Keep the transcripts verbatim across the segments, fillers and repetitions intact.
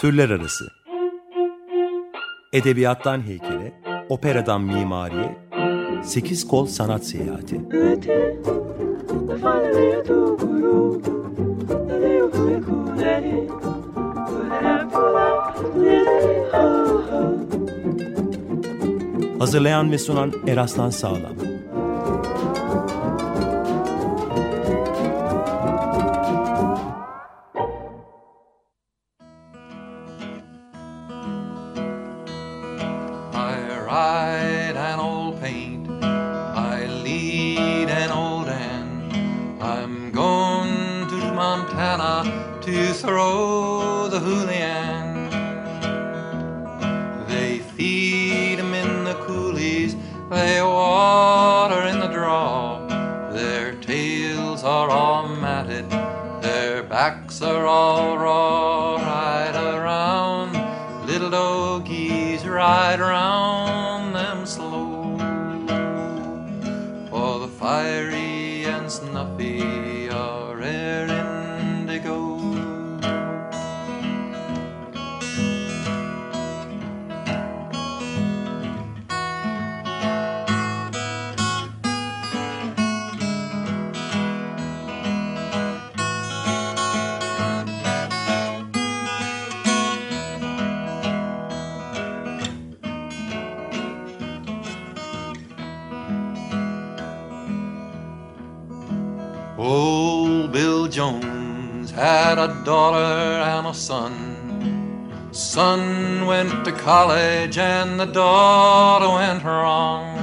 Türler arası. Edebiyattan heykele, operadan mimariye, sekiz kol sanat seyahati. Hazırlayan ve sunan Eraslan Sağlam. Throw the Julian. They feed him in the coulees, they water in the draw. Their tails are all matted, their backs are all raw. Ride around, little doggies, ride around them slow. For the fiery and snuffy are rare indigo. Old Bill Jones had a daughter and a son. Son went to college and the daughter went wrong.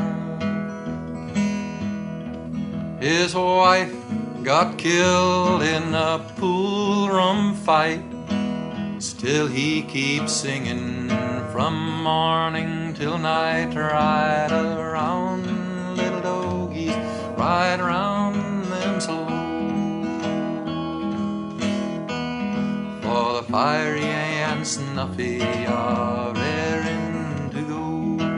His wife got killed in a pool room fight. Still he keeps singing from morning till night. Ride around, little doggies, ride around them slow. For the fiery and snuffy are raring to go.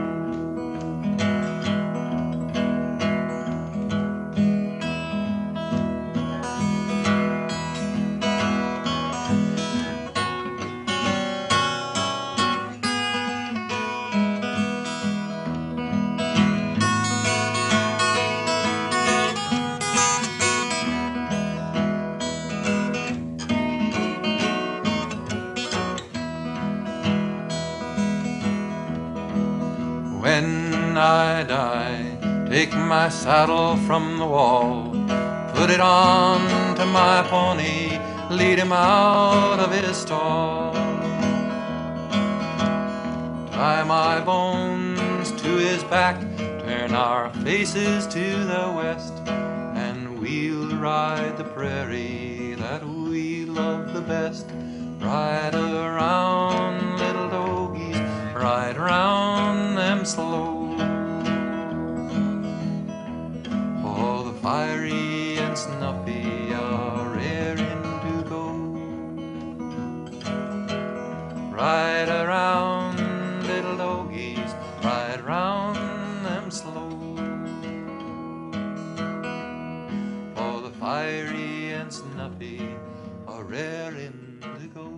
When I die, take my saddle from the wall, put it on to my pony, lead him out of his stall. Tie my bones to his back, turn our faces to the west, and we'll ride the prairie that we love the best. Ride around, little doggies, ride around them slow. For the fiery and snuffy are raring to go. Ride around, little doggies, ride around them slow. For the fiery and snuffy are raring to go.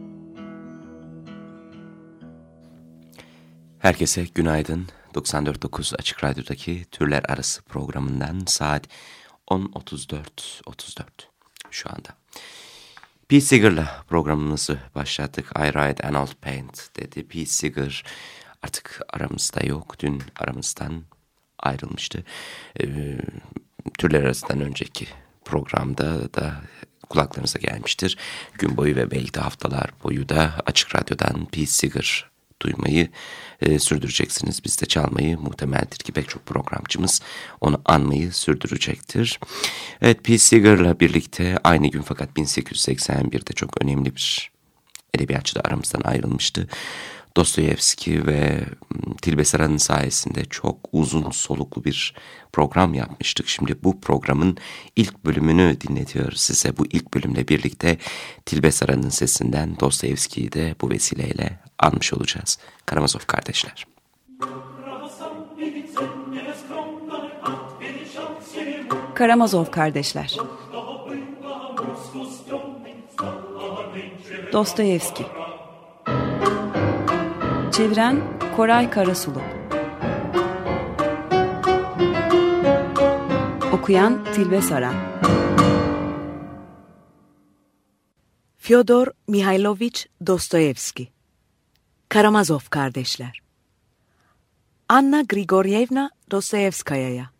Herkese günaydın. doksan dört nokta dokuz Açık Radyo'daki Türler Arası programından saat on otuz dört otuz dört şu anda. Pete Seeger'la programımızı başlattık. I Ride an Old Paint dedi. Pete Seeger artık aramızda yok. Dün aramızdan ayrılmıştı. Ee, Türler Arası'ndan önceki programda da kulaklarınıza gelmiştir. Gün boyu ve belki de haftalar boyu da Açık Radyo'dan Pete Seeger duymayı e, sürdüreceksiniz. Biz de çalmayı, muhtemeldir ki pek çok programcımız onu anmayı sürdürecektir. Evet, Pete Seeger'la birlikte aynı gün fakat bin sekiz yüz seksen birde çok önemli bir edebiyatçı da aramızdan ayrılmıştı. Dostoyevski ve Tilbe Saran'ın sayesinde çok uzun soluklu bir program yapmıştık. Şimdi bu programın ilk bölümünü dinletiyoruz size. Bu ilk bölümle birlikte Tilbe Saran'ın sesinden Dostoyevski'yi de bu vesileyle anmış olacağız. Karamazov kardeşler. Karamazov kardeşler. Dostoyevski. Çeviren Koray Karasulu. Okuyan Tilbe Saran. Fyodor Mihailovich Dostoyevski. Karamazov Kardeşler. Anna Grigoryevna Dostoyevskaya'ya.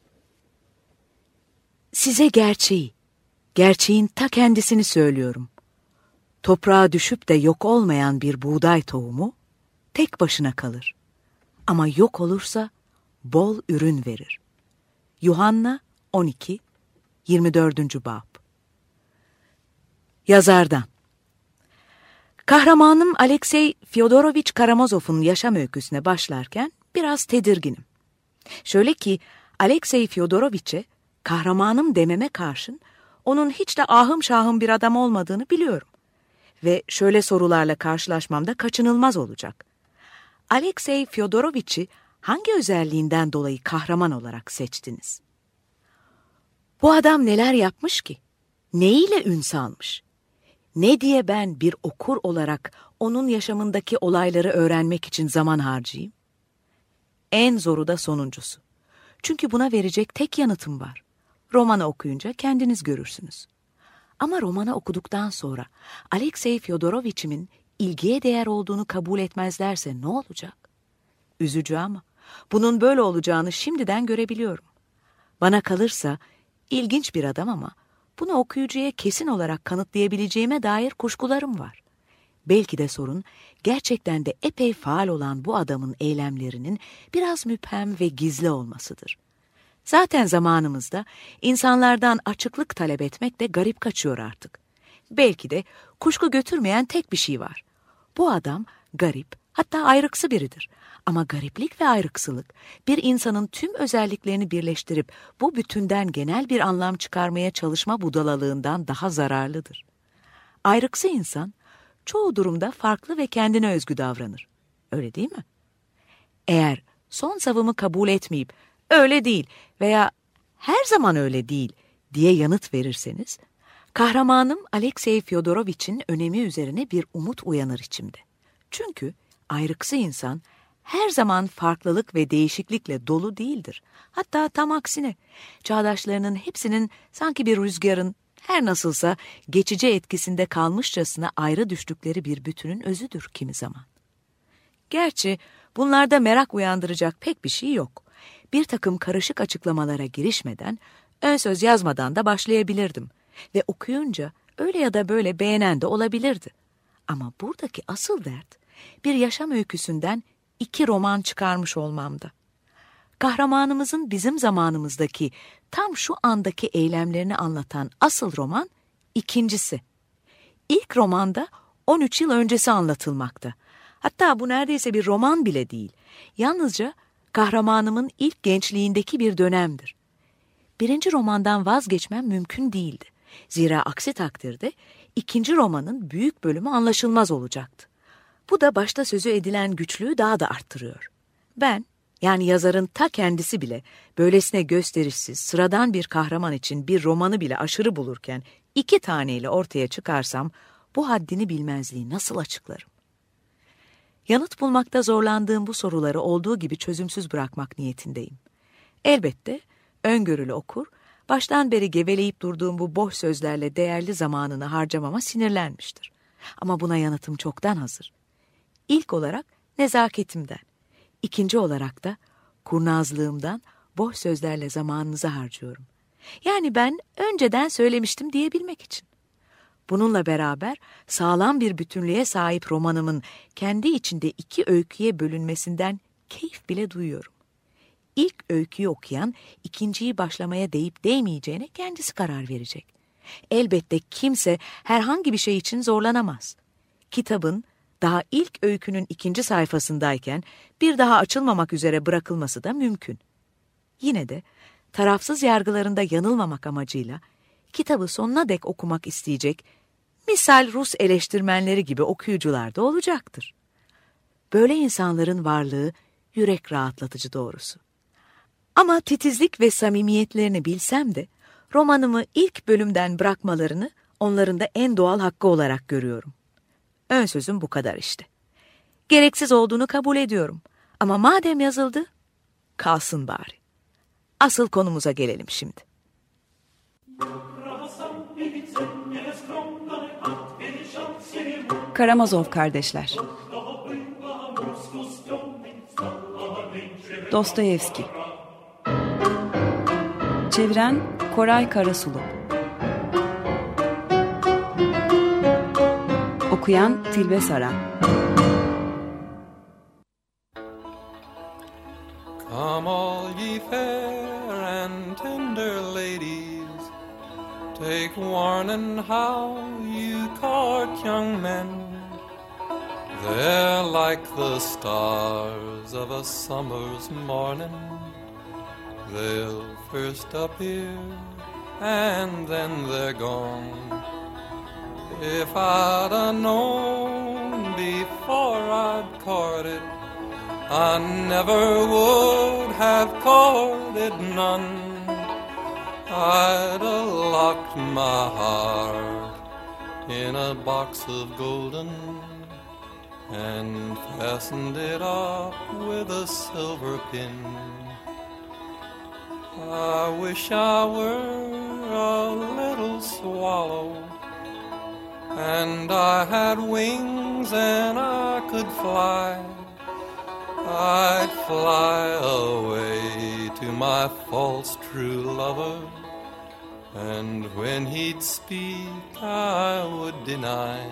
Size gerçeği, gerçeğin ta kendisini söylüyorum. Toprağa düşüp de yok olmayan bir buğday tohumu tek başına kalır. Ama yok olursa bol ürün verir. Yuhanna on iki yirmi dördüncü bab. Yazardan. Kahramanım Alexey Fyodorovich Karamazov'un yaşam öyküsüne başlarken biraz tedirginim. Şöyle ki Alexey Fyodorovich'e kahramanım dememe karşın onun hiç de ahım şahım bir adam olmadığını biliyorum. Ve şöyle sorularla karşılaşmam da kaçınılmaz olacak. Alexey Fyodorovich'i hangi özelliğinden dolayı kahraman olarak seçtiniz? Bu adam neler yapmış ki? Neyle ün salmış? Ne diye ben bir okur olarak onun yaşamındaki olayları öğrenmek için zaman harcayayım? En zoru da sonuncusu. Çünkü buna verecek tek yanıtım var. Romanı okuyunca kendiniz görürsünüz. Ama romanı okuduktan sonra Alexey Fyodorovich'imin ilgiye değer olduğunu kabul etmezlerse ne olacak? Üzücü ama bunun böyle olacağını şimdiden görebiliyorum. Bana kalırsa ilginç bir adam ama bunu okuyucuya kesin olarak kanıtlayabileceğime dair kuşkularım var. Belki de sorun gerçekten de epey faal olan bu adamın eylemlerinin biraz müphem ve gizli olmasıdır. Zaten zamanımızda insanlardan açıklık talep etmek de garip kaçıyor artık. Belki de kuşku götürmeyen tek bir şey var. Bu adam garip, hatta ayrıksı biridir. Ama gariplik ve ayrıksılık bir insanın tüm özelliklerini birleştirip bu bütünden genel bir anlam çıkarmaya çalışma budalalığından daha zararlıdır. Ayrıksı insan çoğu durumda farklı ve kendine özgü davranır. Öyle değil mi? Eğer son savımı kabul etmeyip öyle değil veya her zaman öyle değil diye yanıt verirseniz, kahramanım Alexey Fyodorovich'in önemi üzerine bir umut uyanır içimde. Çünkü ayrıksı insan her zaman farklılık ve değişiklikle dolu değildir. Hatta tam aksine, çağdaşlarının hepsinin sanki bir rüzgarın her nasılsa geçici etkisinde kalmışçasına ayrı düştükleri bir bütünün özüdür kimi zaman. Gerçi bunlarda merak uyandıracak pek bir şey yok. Bir takım karışık açıklamalara girişmeden, ön söz yazmadan da başlayabilirdim. Ve okuyunca öyle ya da böyle beğenen de olabilirdi. Ama buradaki asıl dert, bir yaşam öyküsünden iki roman çıkarmış olmamda. Kahramanımızın bizim zamanımızdaki tam şu andaki eylemlerini anlatan asıl roman ikincisi. İlk romanda on üç yıl öncesi anlatılmakta. Hatta bu neredeyse bir roman bile değil. Yalnızca kahramanımın ilk gençliğindeki bir dönemdir. Birinci romandan vazgeçmem mümkün değildi. Zira aksi takdirde ikinci romanın büyük bölümü anlaşılmaz olacaktı. Bu da başta sözü edilen güçlüğü daha da arttırıyor. Ben, yani yazarın ta kendisi bile böylesine gösterişsiz, sıradan bir kahraman için bir romanı bile aşırı bulurken iki taneyle ortaya çıkarsam bu haddini bilmezliği nasıl açıklarım? Yanıt bulmakta zorlandığım bu soruları olduğu gibi çözümsüz bırakmak niyetindeyim. Elbette öngörülü okur, baştan beri geveleyip durduğum bu boş sözlerle değerli zamanını harcamama sinirlenmiştir. Ama buna yanıtım çoktan hazır. İlk olarak nezaketimden, ikinci olarak da kurnazlığımdan boş sözlerle zamanınızı harcıyorum. Yani ben önceden söylemiştim diyebilmek için. Bununla beraber sağlam bir bütünlüğe sahip romanımın kendi içinde iki öyküye bölünmesinden keyif bile duyuyorum. İlk öyküyü okuyan ikinciyi başlamaya değip değmeyeceğine kendisi karar verecek. Elbette kimse herhangi bir şey için zorlanamaz. Kitabın daha ilk öykünün ikinci sayfasındayken bir daha açılmamak üzere bırakılması da mümkün. Yine de tarafsız yargılarında yanılmamak amacıyla kitabı sonuna dek okumak isteyecek, misal Rus eleştirmenleri gibi okuyucular da olacaktır. Böyle insanların varlığı yürek rahatlatıcı doğrusu. Ama titizlik ve samimiyetlerini bilsem de romanımı ilk bölümden bırakmalarını onların da en doğal hakkı olarak görüyorum. Ön sözüm bu kadar işte. Gereksiz olduğunu kabul ediyorum. Ama madem yazıldı, kalsın bari. Asıl konumuza gelelim şimdi. Karamazov kardeşler. Dostoyevski. Çeviren Koray Karasulu. Okuyan Tilbe Saran. Come all ye fair and tender ladies, take warning how you court young men. They're like the stars of a summer's morning. They'll first appear and then they're gone. If I'd have known before I'd courted, I never would have courted none. I'd have locked my heart in a box of golden and fastened it up with a silver pin. I wish I were a little swallow, and I had wings and I could fly. I'd fly away to my false true lover, and when he'd speak I would deny.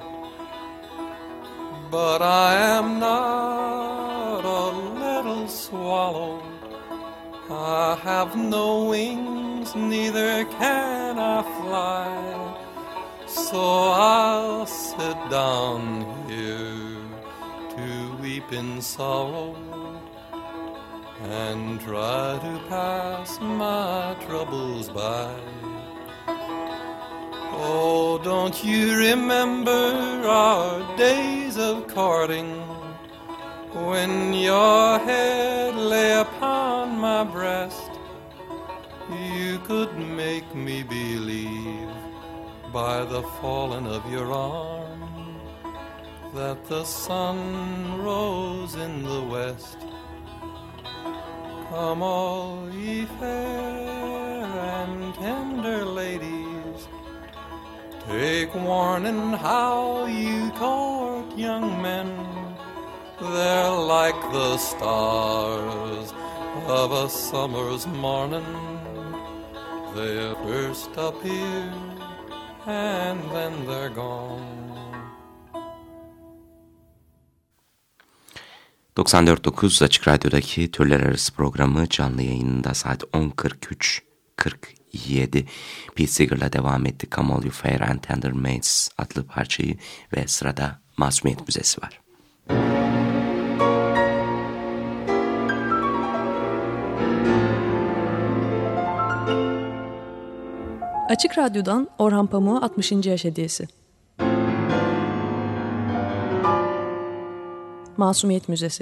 But I am not a little swallow. I have no wings, neither can I fly. So I'll sit down here to weep in sorrow and try to pass my troubles by. Oh, don't you remember our days of courting, when your head lay upon my breast? You could make me believe by the falling of your arm that the sun rose in the west. Come all ye fair and tender ladies, take warning how you court young men. They're like the stars of a summer's morning. They first appear and then they're gone. doksan dört nokta dokuz Açık Radyo'daki Türler Arası programı canlı yayınında saat on kırk üç kırk yedi Pete Seeger'la devam etti. Come All You Fair and Tender Maids adlı parçayı ve sırada Masumiyet Müzesi var. Açık Radyo'dan Orhan Pamuk'a altmışıncı yaş hediyesi. Masumiyet Müzesi.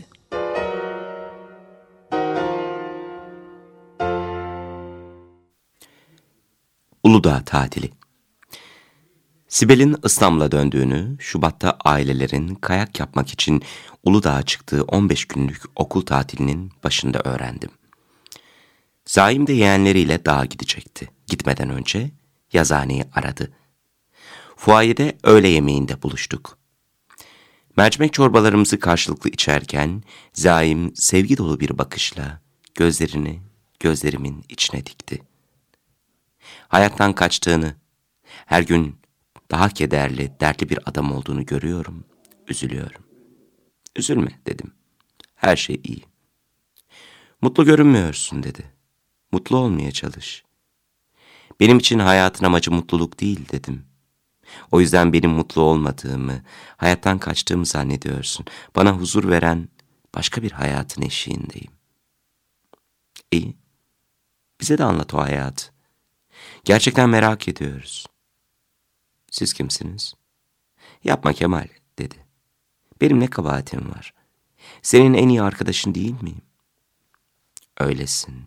Uludağ tatili. Sibel'in İstanbul'a döndüğünü, Şubat'ta ailelerin kayak yapmak için Uludağ'a çıktığı on beş günlük okul tatilinin başında öğrendim. Zaim de yeğenleriyle dağa gidecekti. Gitmeden önce yazıhaneyi aradı. Fuayede öğle yemeğinde buluştuk. Mercimek çorbalarımızı karşılıklı içerken Zaim sevgi dolu bir bakışla gözlerini gözlerimin içine dikti. Hayattan kaçtığını, her gün daha kederli, dertli bir adam olduğunu görüyorum, üzülüyorum. Üzülme dedim. Her şey iyi. Mutlu görünmüyorsun dedi. Mutlu olmaya çalış. Benim için hayatın amacı mutluluk değil dedim. O yüzden benim mutlu olmadığımı, hayattan kaçtığımı zannediyorsun. Bana huzur veren başka bir hayatın eşiğindeyim. İyi. Bize de anlat o hayatı. Gerçekten merak ediyoruz. Siz kimsiniz? Yapma Kemal dedi. Benim ne kabahatim var? Senin en iyi arkadaşın değil miyim? Öylesin.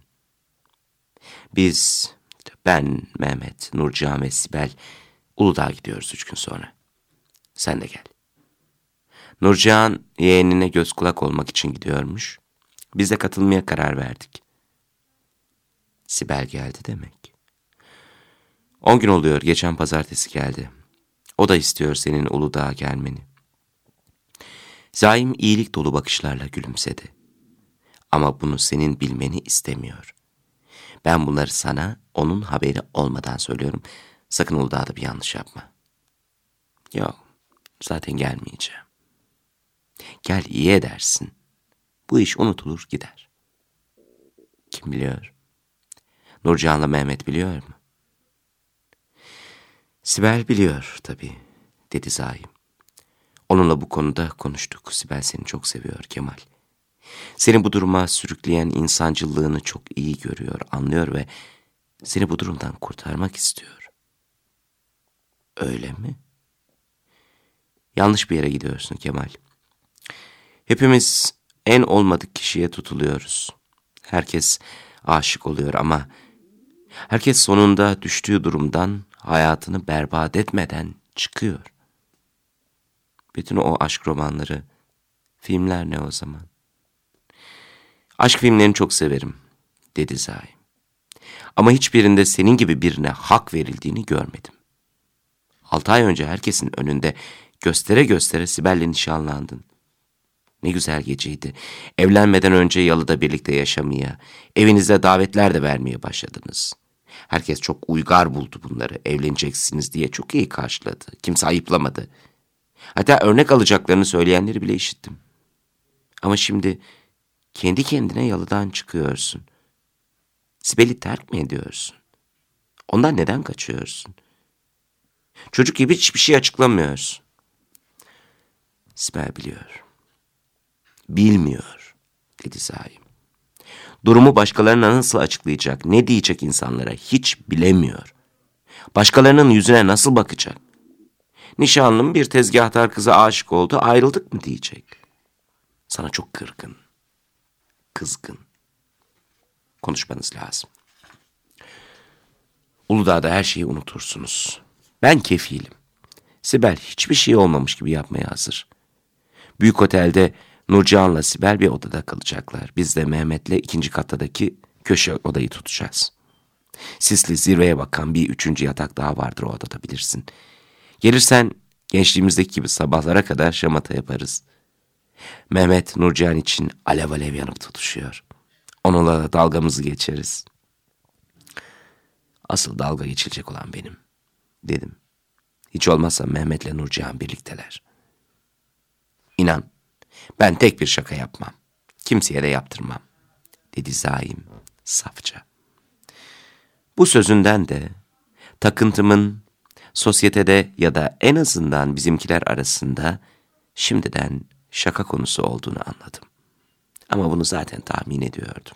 Biz, ben, Mehmet, Nurcan ve Sibel Uludağ'a gidiyoruz üç gün sonra. Sen de gel. Nurcihan yeğenine göz kulak olmak için gidiyormuş. Biz de katılmaya karar verdik. Sibel geldi demek. On gün oluyor, geçen pazartesi geldi. O da istiyor senin Uludağ'a gelmeni. Zaim iyilik dolu bakışlarla gülümsedi. Ama bunu senin bilmeni istemiyor. Ben bunları sana onun haberi olmadan söylüyorum. Sakın Uludağ'da bir yanlış yapma. Yok, zaten gelmeyeceğim. Gel, iyi edersin. Bu iş unutulur gider. Kim biliyor? Nurcihan'la Mehmet biliyor mu? Sibel biliyor tabii, dedi Zaim. Onunla bu konuda konuştuk. Sibel seni çok seviyor Kemal. Seni bu duruma sürükleyen insancıllığını çok iyi görüyor, anlıyor ve seni bu durumdan kurtarmak istiyor. Öyle mi? Yanlış bir yere gidiyorsun Kemal. Hepimiz en olmadık kişiye tutuluyoruz. Herkes aşık oluyor ama herkes sonunda düştüğü durumdan hayatını berbat etmeden çıkıyor. Bütün o aşk romanları, filmler ne o zaman? Aşk filmlerini çok severim, dedi Zaim. Ama hiçbirinde senin gibi birine hak verildiğini görmedim. Altı ay önce herkesin önünde göstere göstere Sibel'le nişanlandın. Ne güzel geceydi. Evlenmeden önce yalıda birlikte yaşamaya, evinize davetler de vermeye başladınız. Herkes çok uygar buldu bunları, evleneceksiniz diye çok iyi karşıladı. Kimse ayıplamadı. Hatta örnek alacaklarını söyleyenleri bile işittim. Ama şimdi kendi kendine yalıdan çıkıyorsun. Sibel'i terk mi ediyorsun? Ondan neden kaçıyorsun? Çocuk gibi hiçbir şey açıklamıyorsun. Sibel biliyor. Bilmiyor, dedi Zaim. Durumu başkalarına nasıl açıklayacak, ne diyecek insanlara hiç bilemiyor. Başkalarının yüzüne nasıl bakacak? Nişanlım bir tezgahtar kıza aşık oldu, ayrıldık mı diyecek. Sana çok kırgın, kızgın. Konuşmanız lazım. Uludağ'da her şeyi unutursunuz. Ben kefilim. Sibel hiçbir şey olmamış gibi yapmaya hazır. Büyük otelde Nurcihan'la Sibel bir odada kalacaklar. Biz de Mehmet'le ikinci kattaki köşe odayı tutacağız. Sisli, zirveye bakan bir üçüncü yatak daha vardır o odada, bilirsin. Gelirsen gençliğimizdeki gibi sabahlara kadar şamata yaparız. Mehmet Nurcihan için alev alev yanıp tutuşuyor. Onunla da dalgamızı geçeriz. Asıl dalga geçilecek olan benim, dedim. Hiç olmazsa Mehmet'le Nurcihan birlikteler. İnan, ben tek bir şaka yapmam. Kimseye de yaptırmam, dedi Zaim safça. Bu sözünden de takıntımın sosyetede ya da en azından bizimkiler arasında şimdiden şaka konusu olduğunu anladım. Ama bunu zaten tahmin ediyordum.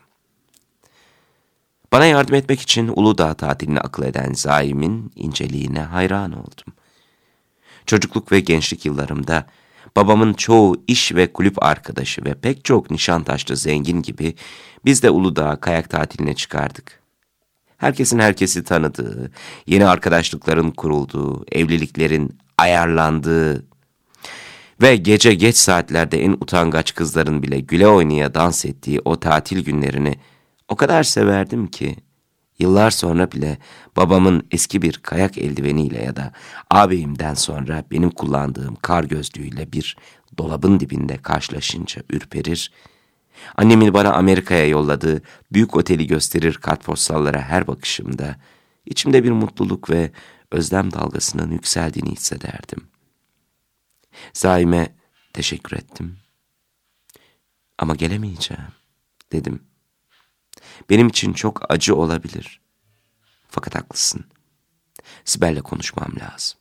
Bana yardım etmek için Uludağ tatilini akıl eden Zaim'in inceliğine hayran oldum. Çocukluk ve gençlik yıllarımda babamın çoğu iş ve kulüp arkadaşı ve pek çok Nişantaşlı zengin gibi biz de Uludağ'a kayak tatiline çıkardık. Herkesin herkesi tanıdığı, yeni arkadaşlıkların kurulduğu, evliliklerin ayarlandığı ve gece geç saatlerde en utangaç kızların bile güle oynaya dans ettiği o tatil günlerini o kadar severdim ki, yıllar sonra bile babamın eski bir kayak eldiveniyle ya da ağabeyimden sonra benim kullandığım kar gözlüğüyle bir dolabın dibinde karşılaşınca ürperir, annemin bana Amerika'ya yolladığı büyük oteli gösterir kartpostallara her bakışımda içimde bir mutluluk ve özlem dalgasının yükseldiğini hissederdim. Zaim'e teşekkür ettim. Ama gelemeyeceğim, dedim. Benim için çok acı olabilir. Fakat haklısın. Sibel'le konuşmam lazım.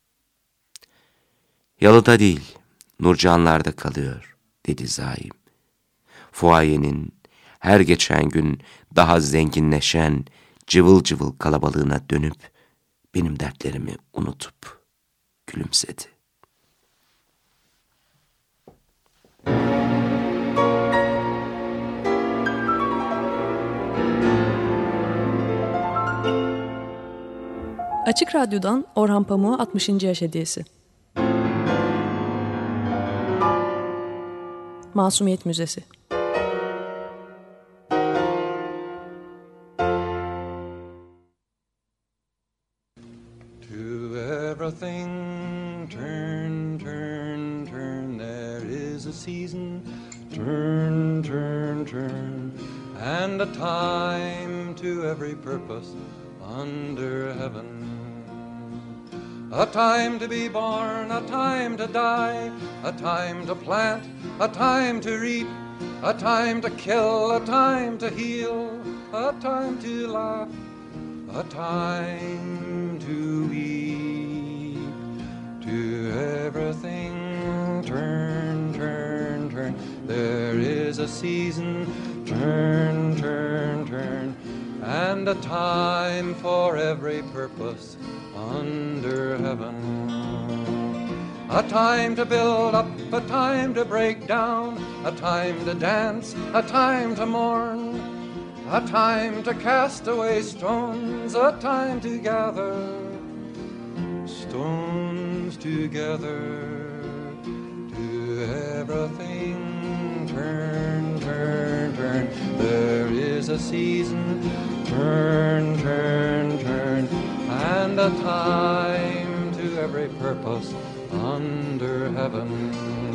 Yalıda değil, Nurcihanlar'da kalıyor, dedi Zaim. Fuayenin her geçen gün daha zenginleşen cıvıl cıvıl kalabalığına dönüp benim dertlerimi unutup gülümsedi. Açık Radyo'dan Orhan Pamuk'a altmışıncı yaş hediyesi. Masumiyet Müzesi. To everything turn, turn, turn, there is a season, turn, turn, turn, and a time to every purpose under heaven. A time to be born, a time to die, a time to plant, a time to reap, a time to kill, a time to heal, a time to laugh, a time to weep. To everything turn, turn, turn, there is a season, turn, turn, turn, and a time for every purpose under heaven. A time to build up, a time to break down, a time to dance, a time to mourn, a time to cast away stones, a time to gather stones together. To everything turn, turn, turn, there is a season, turn, turn, turn, and a time to every purpose under heaven.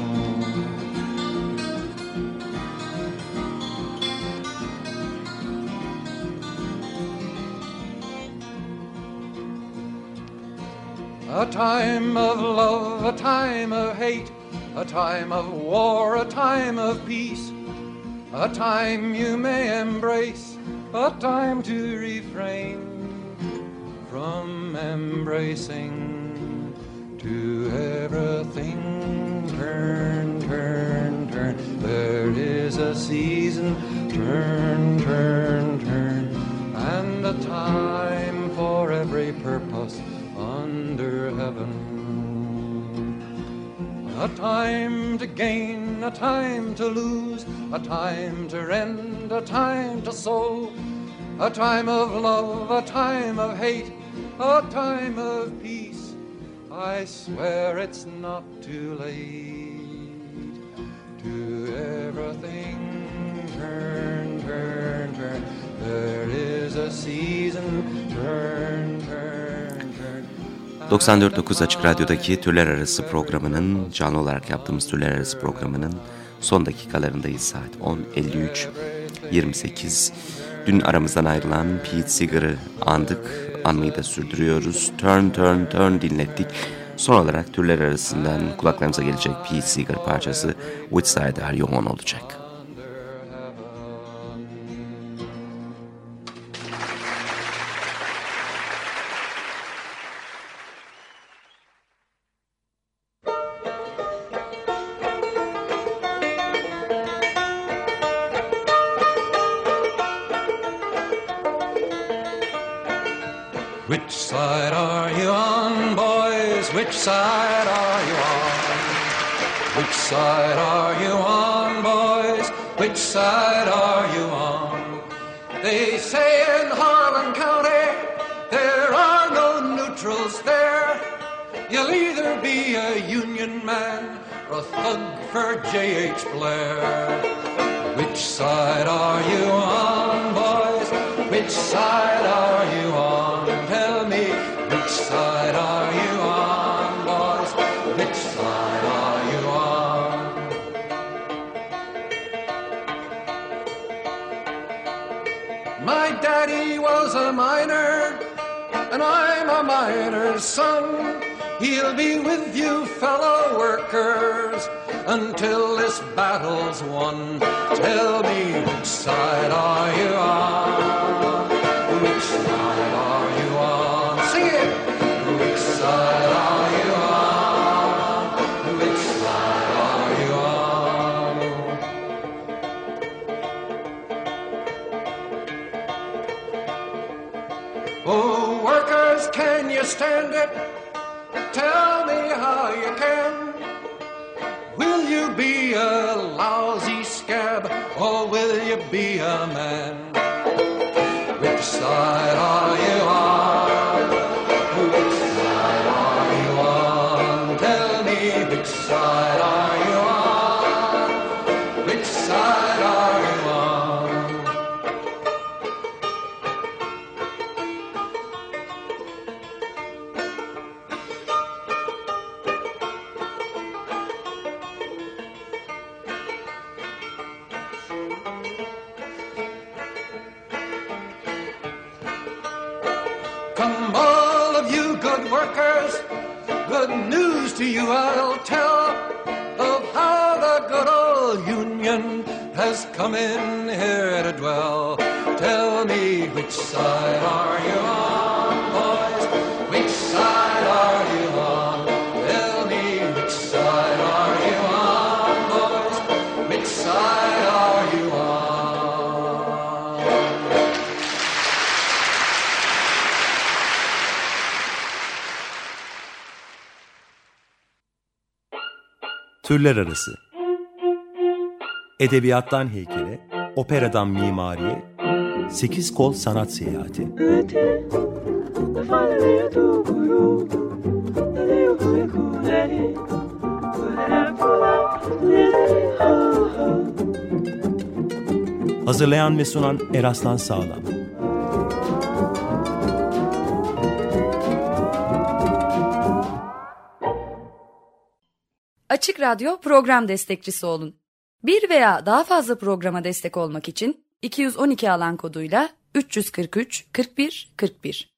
A time of love, a time of hate, a time of war, a time of peace, a time you may embrace, a time to refrain from embracing. To everything turn, turn, turn, there is a season, turn, turn, turn, and a time for every purpose under heaven. A time to gain, a time to lose, a time to rend, a time to sow, a time of love, a time of hate, a time of peace. I swear it's not too late. To everything turn, turn, turn, there is a season, turn, turn, turn. doksan dört nokta dokuz Açık Radyo'daki Türler Arası programının, canlı olarak yaptığımız Türler Arası programının son dakikalarındayız. Saat on elli üç yirmi sekiz. Dün aramızdan ayrılan Pete Seeger'ı andık, anmayı da sürdürüyoruz. Turn, Turn, Turn dinlettik. Son olarak türler arasından kulaklarımıza gelecek Pete Seeger parçası Which Side Are You On olacak. Which side are you on, boys? Which side are you on? Which side are you on, boys? Which side are you on? They say in Harlan County there are no neutrals there. You'll either be a Union man or a thug for J H Blair. Which side are you on, boys? Which side are you on? Tell me, which side are you on, boys? Which side are you on? My daddy was a miner, and I'm a miner's son. He'll be with you fellow workers until this battle's won. Tell me, which side are you on? Which side are you on? Sing it! Which side are you on? Which side are you on? Oh, workers, can you stand it? Tell me how you can. Will you be a lousy scab, or will you be a man? Which side are you on? Which side are you on? Tell me, which side are you on? Come all of you good workers, good news to you I'll tell of how the good old Union has come in here to dwell. Tell me, which side are you on, boys? Which side are you on? Tell me, which side are you on, boys? Which side are you on? Türler arası. Edebiyattan heykele, operadan mimariye, sekiz kol sanat seyahati. Hazırlayan ve sunan Eraslan Sağlam. Açık Radyo program destekçisi olun. Bir veya daha fazla programa destek olmak için iki yüz on iki alan koduyla üç yüz kırk üç kırk bir kırk bir